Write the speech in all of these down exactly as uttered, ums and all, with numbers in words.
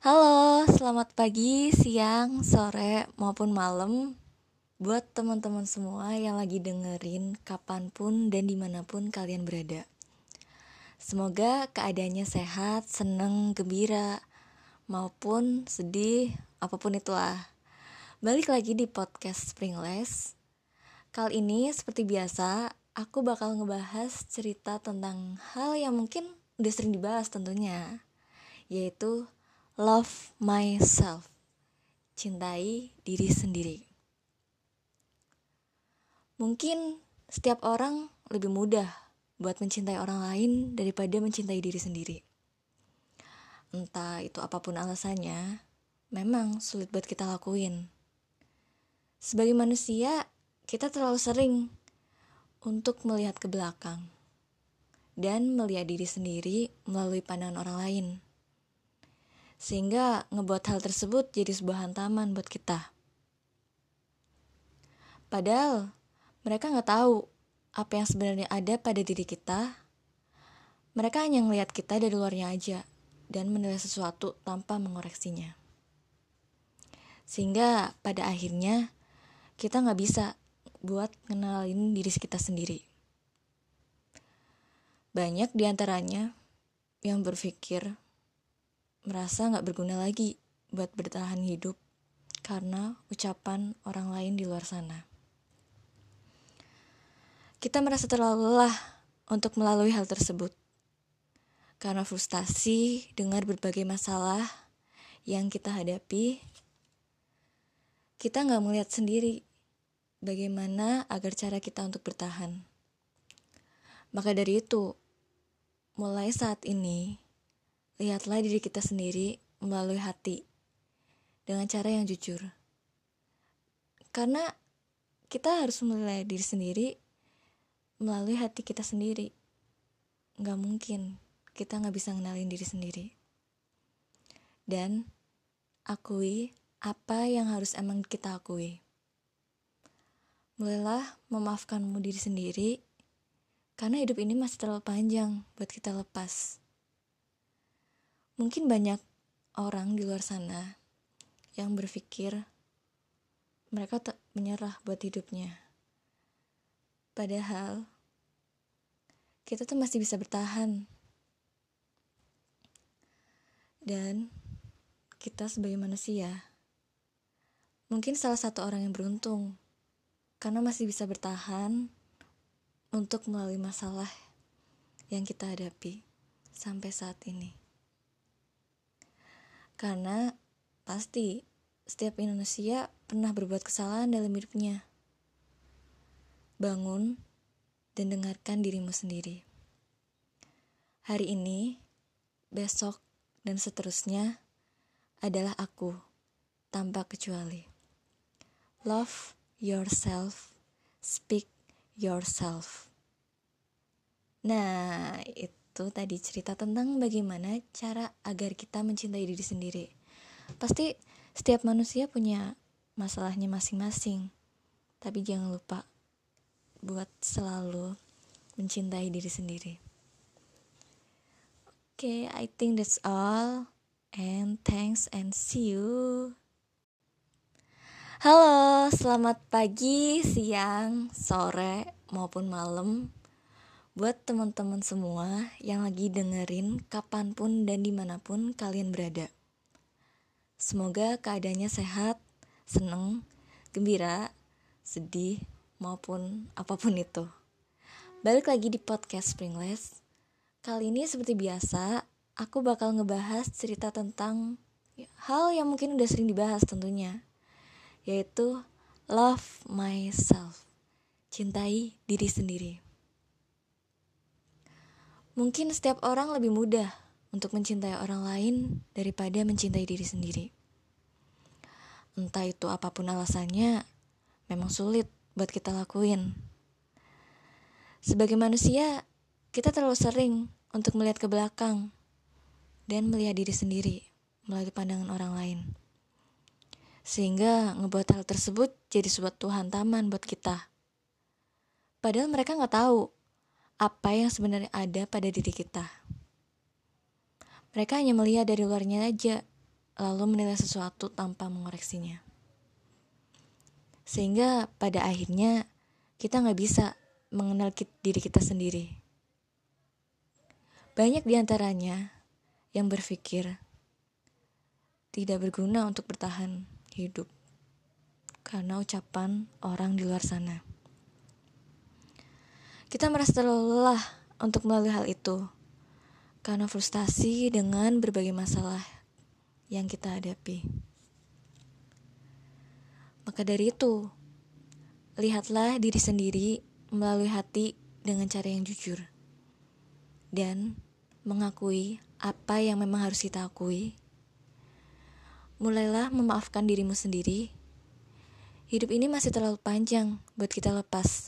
Halo, selamat pagi, siang, sore, maupun malam buat teman-teman semua yang lagi dengerin kapanpun dan dimanapun kalian berada. Semoga keadaannya sehat, seneng, gembira, maupun sedih, apapun itulah. Balik lagi di podcast Springless. Kali ini seperti biasa, aku bakal ngebahas cerita tentang hal yang mungkin udah sering dibahas tentunya, yaitu love myself. Cintai diri sendiri. Mungkin setiap orang lebih mudah buat mencintai orang lain daripada mencintai diri sendiri. Entah itu apapun alasannya, memang sulit buat kita lakuin. Sebagai manusia, kita terlalu sering untuk melihat ke belakang dan melihat diri sendiri melalui pandangan orang lain. Sehingga ngebuat hal tersebut jadi sebuah hantaman buat kita. Padahal mereka nggak tahu apa yang sebenarnya ada pada diri kita. Mereka hanya ngelihat kita dari luarnya aja dan menilai sesuatu tanpa mengoreksinya. Sehingga pada akhirnya kita nggak bisa buat ngenalin diri kita sendiri. Banyak diantaranya yang berpikir merasa nggak berguna lagi buat bertahan hidup karena ucapan orang lain di luar sana. Kita merasa terlalu lelah untuk melalui hal tersebut. Karena frustasi dengan berbagai masalah yang kita hadapi, kita gak melihat sendiri bagaimana agar cara kita untuk bertahan. Maka dari itu, mulai saat ini, lihatlah diri kita sendiri melalui hati dengan cara yang jujur. Karena kita harus menilai diri sendiri melalui hati kita sendiri. Gak mungkin kita gak bisa ngenalin diri sendiri. Dan akui apa yang harus emang kita akui. Mulailah memaafkanmu diri sendiri, karena hidup ini masih terlalu panjang buat kita lepas. Mungkin banyak orang di luar sana yang berpikir mereka tak menyerah buat hidupnya. Padahal kita tuh masih bisa bertahan. Dan kita sebagai manusia mungkin salah satu orang yang beruntung karena masih bisa bertahan untuk melalui masalah yang kita hadapi sampai saat ini. Karena pasti setiap manusia pernah berbuat kesalahan dalam hidupnya. Bangun dan dengarkan dirimu sendiri. Hari ini, besok, dan seterusnya adalah aku, tanpa kecuali. Love yourself, speak yourself. Nah, itu tadi cerita tentang bagaimana cara agar kita mencintai diri sendiri. Pasti setiap manusia punya masalahnya masing-masing, tapi jangan lupa buat selalu mencintai diri sendiri. Okay, I think that's all. And thanks and see you. Halo, selamat pagi, siang, sore, maupun malam. Buat teman-teman semua yang lagi dengerin kapanpun dan dimanapun kalian berada. Semoga keadaannya sehat, seneng, gembira, sedih, maupun apapun itu. Balik lagi di podcast Springless. Kali ini seperti biasa, aku bakal ngebahas cerita tentang hal yang mungkin udah sering dibahas tentunya, yaitu love myself, cintai diri sendiri. Mungkin setiap orang lebih mudah untuk mencintai orang lain daripada mencintai diri sendiri. Entah itu apapun alasannya, memang sulit buat kita lakuin. Sebagai manusia, kita terlalu sering untuk melihat ke belakang dan melihat diri sendiri melalui pandangan orang lain. Sehingga ngebuat hal tersebut jadi suatu hantaman buat kita. Padahal mereka gak tahu apa yang sebenarnya ada pada diri kita. Mereka hanya melihat dari luarnya aja lalu menilai sesuatu tanpa mengoreksinya. Sehingga pada akhirnya kita gak bisa mengenal diri kita sendiri. Banyak diantaranya yang berpikir tidak berguna untuk bertahan hidup karena ucapan orang di luar sana. Kita merasa terlalu lelah untuk melalui hal itu karena frustasi dengan berbagai masalah yang kita hadapi. Maka dari itu, lihatlah diri sendiri melalui hati dengan cara yang jujur. Dan mengakui apa yang memang harus kita akui. Mulailah memaafkan dirimu sendiri. Hidup ini masih terlalu panjang buat kita lepas.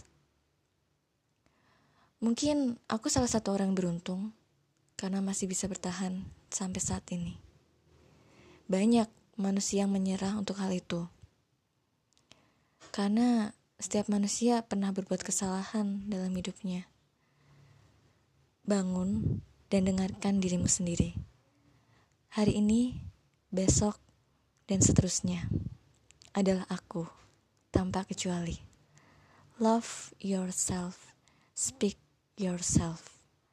Mungkin aku salah satu orang beruntung karena masih bisa bertahan sampai saat ini. Banyak manusia yang menyerah untuk hal itu. Karena setiap manusia pernah berbuat kesalahan dalam hidupnya. Bangun dan dengarkan dirimu sendiri. Hari ini, besok, dan seterusnya adalah aku tanpa kecuali. Love yourself, speak yourself.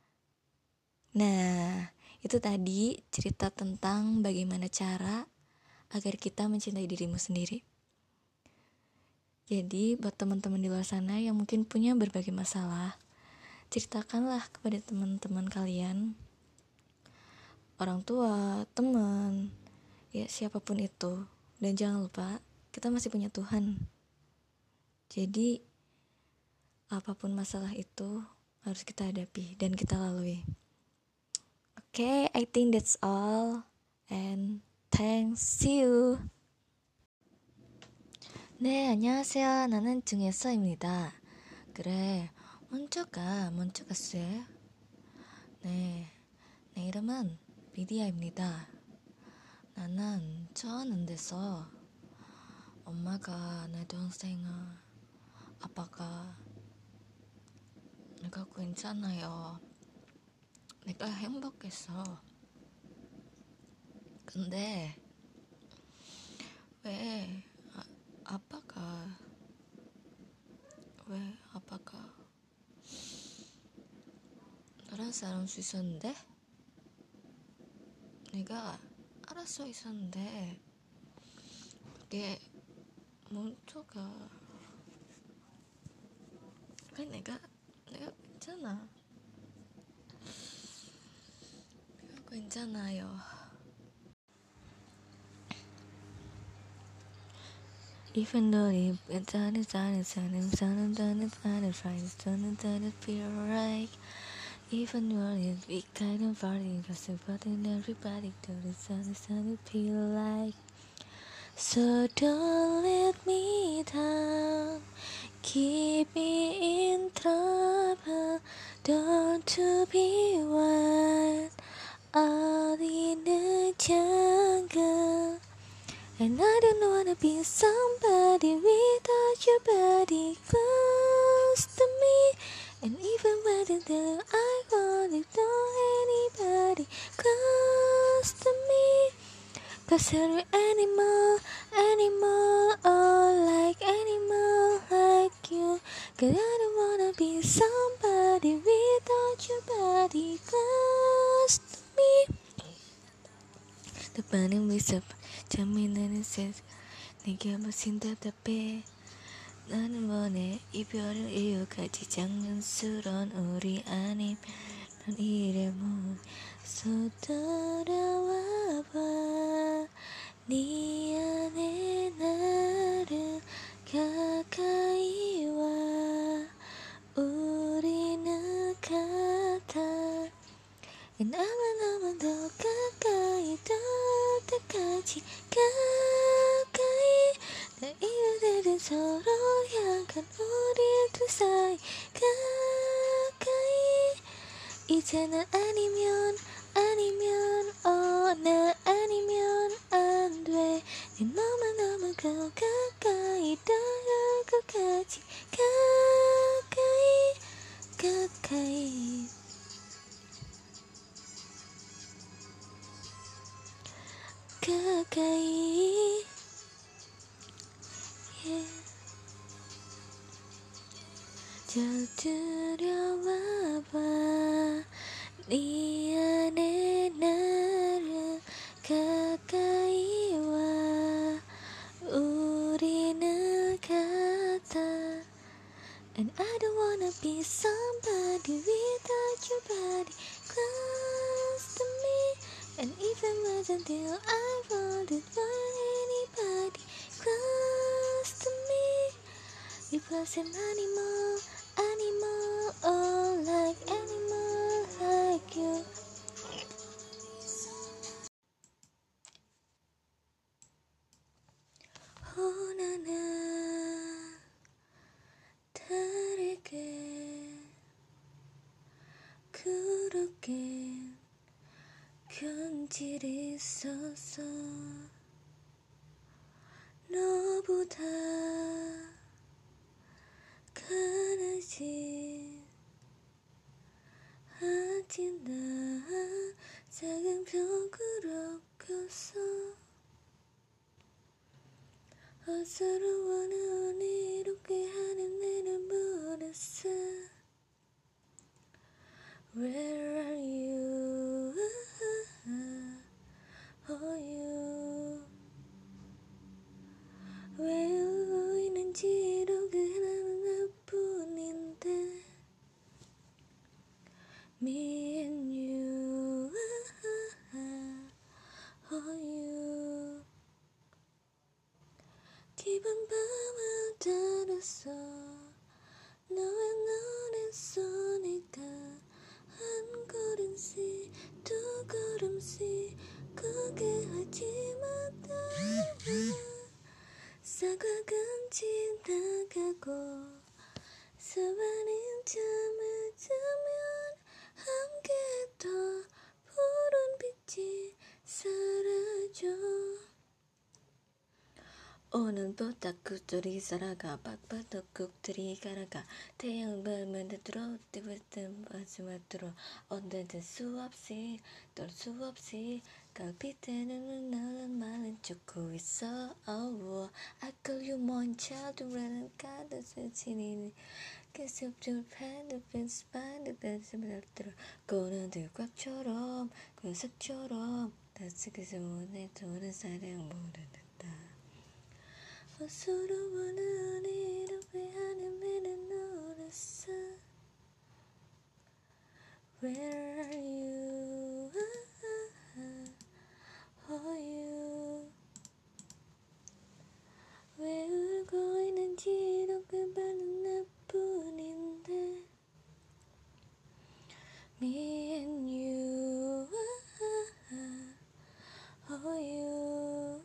Nah, itu tadi cerita tentang bagaimana cara agar kita mencintai dirimu sendiri. Jadi buat teman-teman di luar sana yang mungkin punya berbagai masalah, ceritakanlah kepada teman-teman kalian, orang tua, teman, ya siapapun itu. Dan jangan lupa, kita masih punya Tuhan. Jadi apapun masalah itu harus kita hadapi dan kita lalui. Okay, I think that's all. And thanks, see you. 네, 안녕하세요. 나는 증예서입니다. 그래, 먼저 가, 먼저 갔어요. 네, 내 이름은 비디아입니다. 나는 좋아하는 데서 엄마가 내 동생을, 아빠가 내가 괜찮아요. 내가 행복했어. 근데 왜 아, 아빠가 왜 아빠가 너랑 살아올 수 있었는데 내가 알아 써 있었는데 그게 먼저가 그래 내가 내가 괜찮아 내가 괜찮아요. Even though it doesn't sound sound sound doesn't find it right doesn't doesn't feel right. Even though it big kind of party but everybody doesn't sound feel like. So don't let me down, keep me in trouble, don't to be wild out in the jungle. And I don't wanna be somebody without your body close to me. And even when I wanna know anybody close to me. Cause you're animal, animal, oh like animal like you. Cause I don't wanna be somebody without your body close to me. The burning with up, 잠이나는 셋, 내게 마신 답답해. 나는 원해 이별을 이유까지 장난스러운 우리 아님. 넌 이래 무서 돌아와봐. 네 안에 나를 가까이 와. 우리는 같아. And 아마 너무 더 가까이 더 때까지 가까이. 날 이유들은 서로 향한 우리 둘 사이 가까이. 이제는 아니면 아니면 어 나 아니면 안 돼. 네 너만 너무 가까이 닿을 것까지 가까이 가까이. 가까이 yeah. 곁들여와봐 네 안에 나를 가까이 와 우리는 같아 And I don't wanna be somebody without your body close to me And even more until I wouldn't want anybody close to me It wasn't animal, animal, oh like animal like you Oh 나는 다르게 그렇게 견질 있었어 너보다 가라지 하지 나 작은 벽으로 꼈어 어서러워 넌 이렇게 하는 내를 물었어 Where are you? Oh you 왜 울고 있는지로 그나는 나뿐인데 Me and you Oh you 깊은 밤을 따랐어 너의 눈에 쏘니까 한 걸음씩 두 걸음씩 그게 하지만 따라 사과금 지나가고 사와는 잠을 자면 함께 더 푸른 빛이 사라져 오늘보다 구들이 살아가 빡빡덕국들이 갈아가 태양 밤에 들어 뜨뜻한 마지막 들어 언제든 수없이 떨 수 없이 갈빛에는 너는 말은 쫓고 있어 oh, I call you my child 라는 가득을 지니는 계속 줄판을 펜스판을 펜스판을 들어 고는 들꽉처럼 구석처럼 다스그서 문에 도는 사랑 모르는 어서러워 넌 이렇게 하는 내를 노렸어 Where are you? Oh you 왜 울고 있는지 이렇게 바른 나뿐인데 Me and you Oh you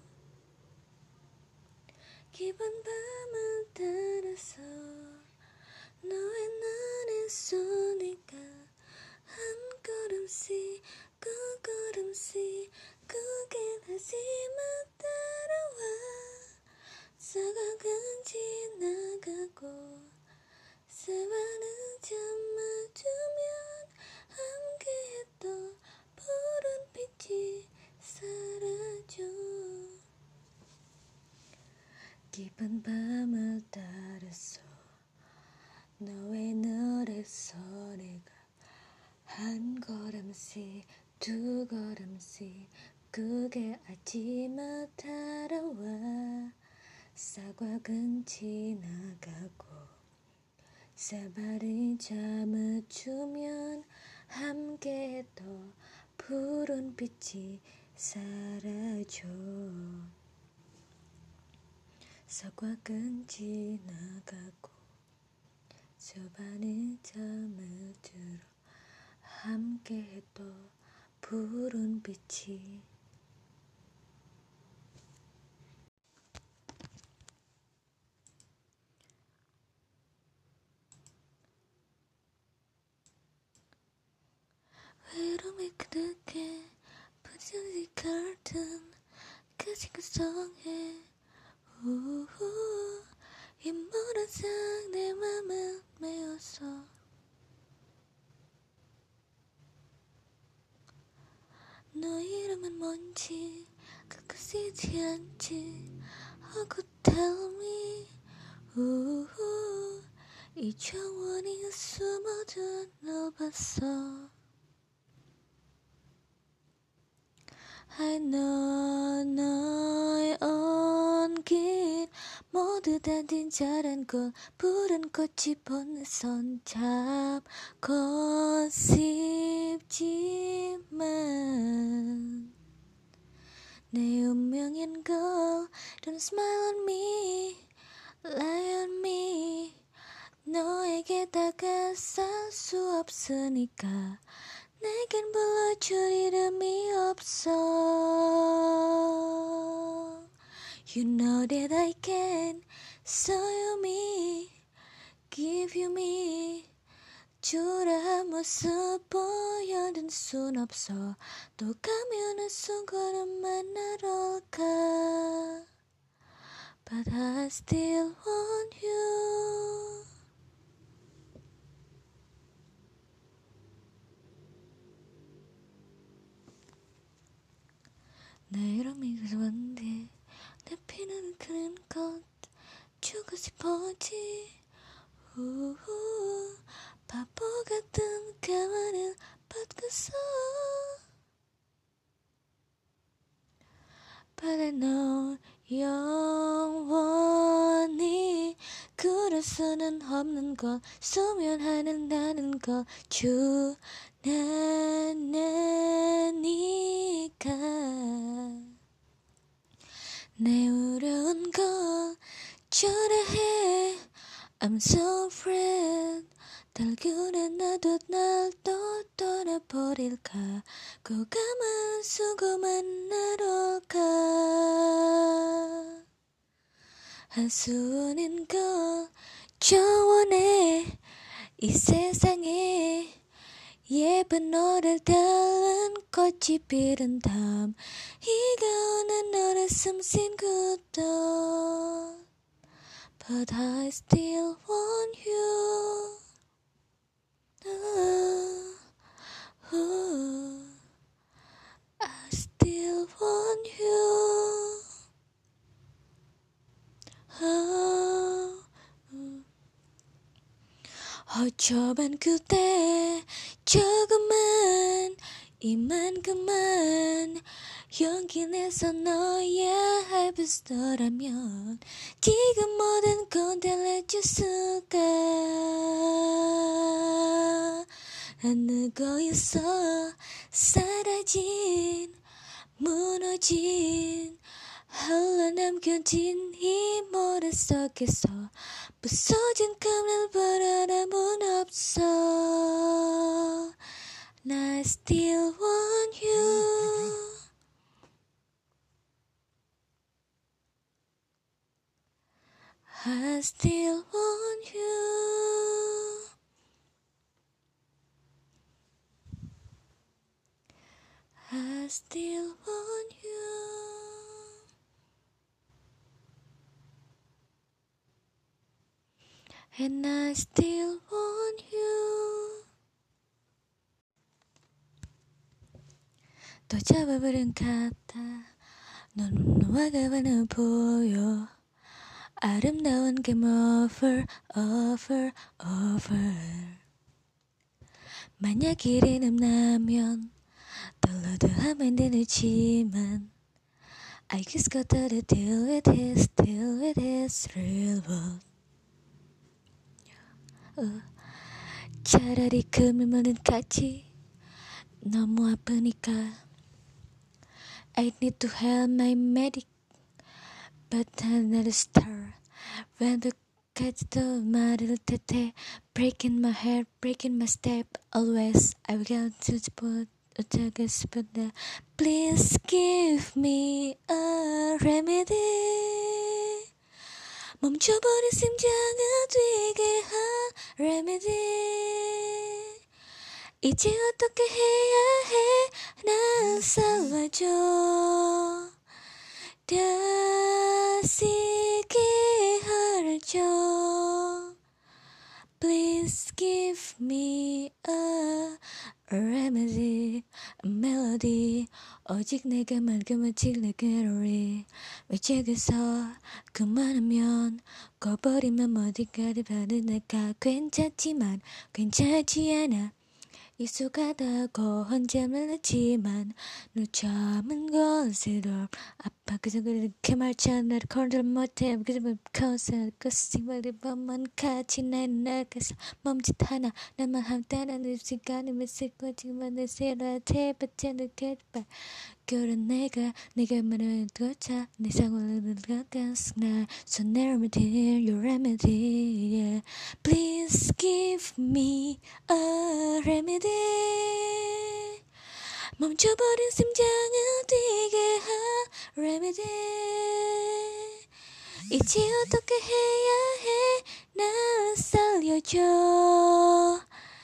깊은 밤을 따라서 너의 눈에 쏘니까 한 걸음씩 두 걸음씩 그게 하지만 따라와 사각은 지나가고 사와는 잠을 두면 함께했던 푸른 빛이 사라져 깊은 밤을 따라서 너의 눈에 쏘니까 한 걸음씩 두 걸음씩 그게 아침을 따라와 사과근 지나가고 사발이 잠을 주면 함께 더 푸른 빛이 사라져 사과근 지나가고 사발이 잠을 들어 함께 더 푸른 빛이 외로움에 그득해 부정이 갈등 그지 구성해 우후 인물한 상내 맘을 메웠어 너 이름은 뭔지 그 쓰지 않지 하고 tell me 우후 이 정원이 숨어든 널 봤어 I know 너의 온길 모두 다 진짜란 걸 푸른 꽃이 보는 손 잡고 싶지만 내 운명인 걸 Don't smile on me Lie on me 너에게 다가설 수 없으니까 내겐 불러줄 이름이 없어 You know that I can show you me Give you me 초라한 모습 보여준 순 없어 또 가면은 순간은 만나러 올까 But I still want you 내 이름이 그런데 내 피는 그린 것 주고 싶었지 우후 바보 같은 가만을 받고서 But I know 영원히 그럴 수는 없는 걸 소멸하는다는 걸 주나나니까 내 어려운 걸 초라해 I'm so afraid 달그래 나도 날 또 떠나버릴까 고감한 수고 만나러 가 한수원인 걸 저원해 이 세상에 예쁜 너를 닮은 꽃이 피른 다음 이가 오는 너를 숨쉰 그도 But I still want you uh, uh, I still want you uh, uh. 어쩌면 그대 조금만 이만큼만 용기 내서 너의 할부스더라면 지금 모든 건 달라졌을까 안고 있어 사라진 무너진 흘러남겨진 이 모래 속에서 부서진 감을 바라람은 없어 I still want you I still want you I still want you And I still want you 또 잡아버린 같아 넌 너와가 많아 보여 아름다운 game over over over 만약 일이 남나면 떨러도 하면 되지만 I just gotta deal with this deal with this real world 어, 차라리 그 밀면은 같이 너무 아프니까 I need to have my medic But I'm not a star When the cat도 말을 탓해 Breaking my heart, breaking my step Always I will go to the spot 어쩌게 싶은데 Please give me a remedy 멈춰버린 심장을 뛰게 한 remedy 이제 어떻게 해야 해 날 살려줘 다시 기회를 Please give me a remedy, a melody 오직 내가만 그만칠 내게로리 외치겠어 그만하면 꺼버리면 어디까지 가는 내가 괜찮지만 괜찮지 않아 익숙하다고 혼잣말 했지만 너 참은 것으로 아파 그저 그렇게 말쳐 나를 컨트롤 못해 그저 커서 그 생활이 밤만 같이 난 나가서 멈칫 하나 나만 한따라는 시간이 몇시고 지금은 내 세라테 받지 않게 봐 그런 내가 내가 말하는 것자 내 상황을 가까스 나 So remedy your remedy yeah. Please give me a remedy 멈춰버린 심장을 뛰게 하 remedy 이제 어떻게 해야 해 날 살려줘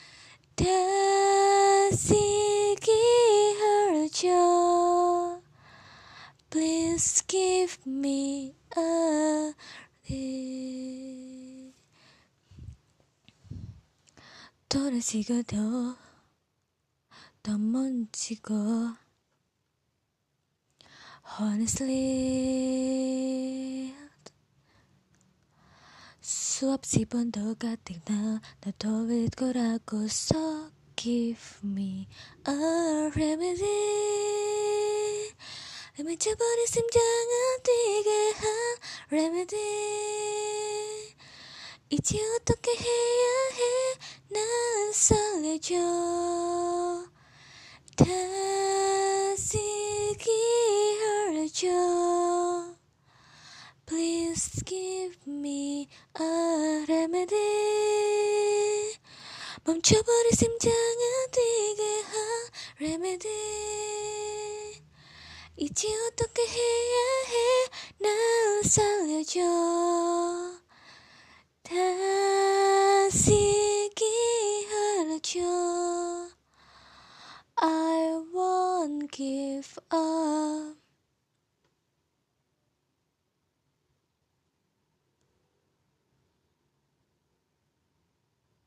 다시 기회줘 Please give me a remedy 돌아지고 더 더 멈추고 Honestly 수없이 번 더 같은 나 나도 왜 거라고 So give me a remedy 미쳐버린 심장을 뛰게 한 remedy 이제 어떻게 해야 해 날 살려줘 다시 기회를 줘 Please give me a remedy 멈춰버린 심장을 뛰게 한 remedy 이제 어떻게 해야 해 날 살려줘 다시 기회를 줘 I won't give up